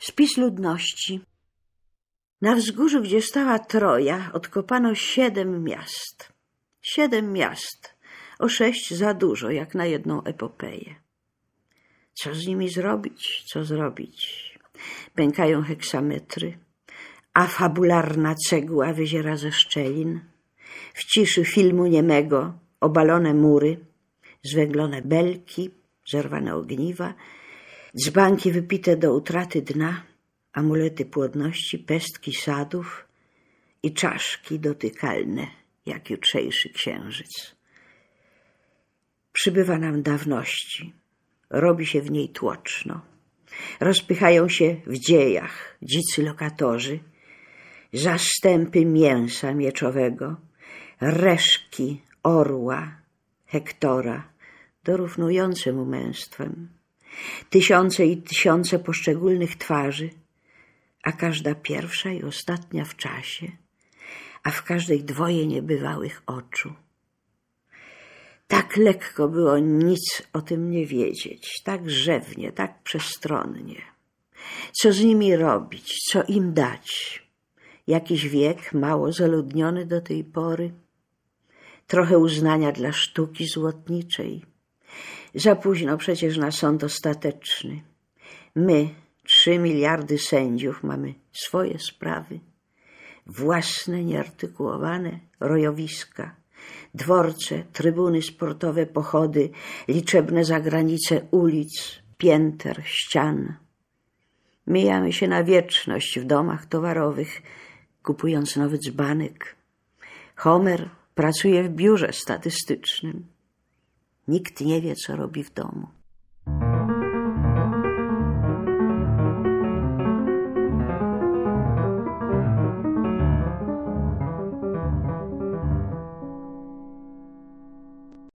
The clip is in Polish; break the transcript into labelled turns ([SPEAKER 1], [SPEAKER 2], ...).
[SPEAKER 1] Spis ludności. Na wzgórzu, gdzie stała Troja, odkopano 7 miast. 7 miast, o 6 za dużo, jak na jedną epopeję. Co z nimi zrobić? Co zrobić? Pękają heksametry, a fabularna cegła wyziera ze szczelin. W ciszy filmu niemego obalone mury, zwęglone belki, zerwane ogniwa, dzbanki wypite do utraty dna, amulety płodności, pestki sadów i czaszki dotykalne, jak jutrzejszy księżyc. Przybywa nam dawności, robi się w niej tłoczno. Rozpychają się w dziejach dzicy lokatorzy, zastępy mięsa mieczowego, reszki orła, Hektora, dorównujące mu męstwem. Tysiące i tysiące poszczególnych twarzy, a każda pierwsza i ostatnia w czasie, a w każdej 2 niebywałych oczu. Tak lekko było nic o tym nie wiedzieć, tak rzewnie, tak przestronnie. Co z nimi robić, co im dać? Jakiś wiek mało zaludniony do tej pory, trochę uznania dla sztuki złotniczej. Za późno przecież na sąd ostateczny. My, 3 miliardy sędziów, mamy swoje sprawy, własne, nieartykułowane rojowiska, dworce, trybuny sportowe, pochody, liczebne zagranice ulic, pięter, ścian. Mijamy się na wieczność w domach towarowych, kupując nowy dzbanek. Homer pracuje w biurze statystycznym. Nikt nie wie, co robi w domu.